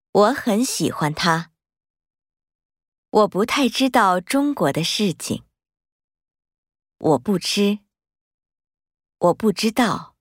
我很喜欢它。我不太知道中国的事情。我不知道。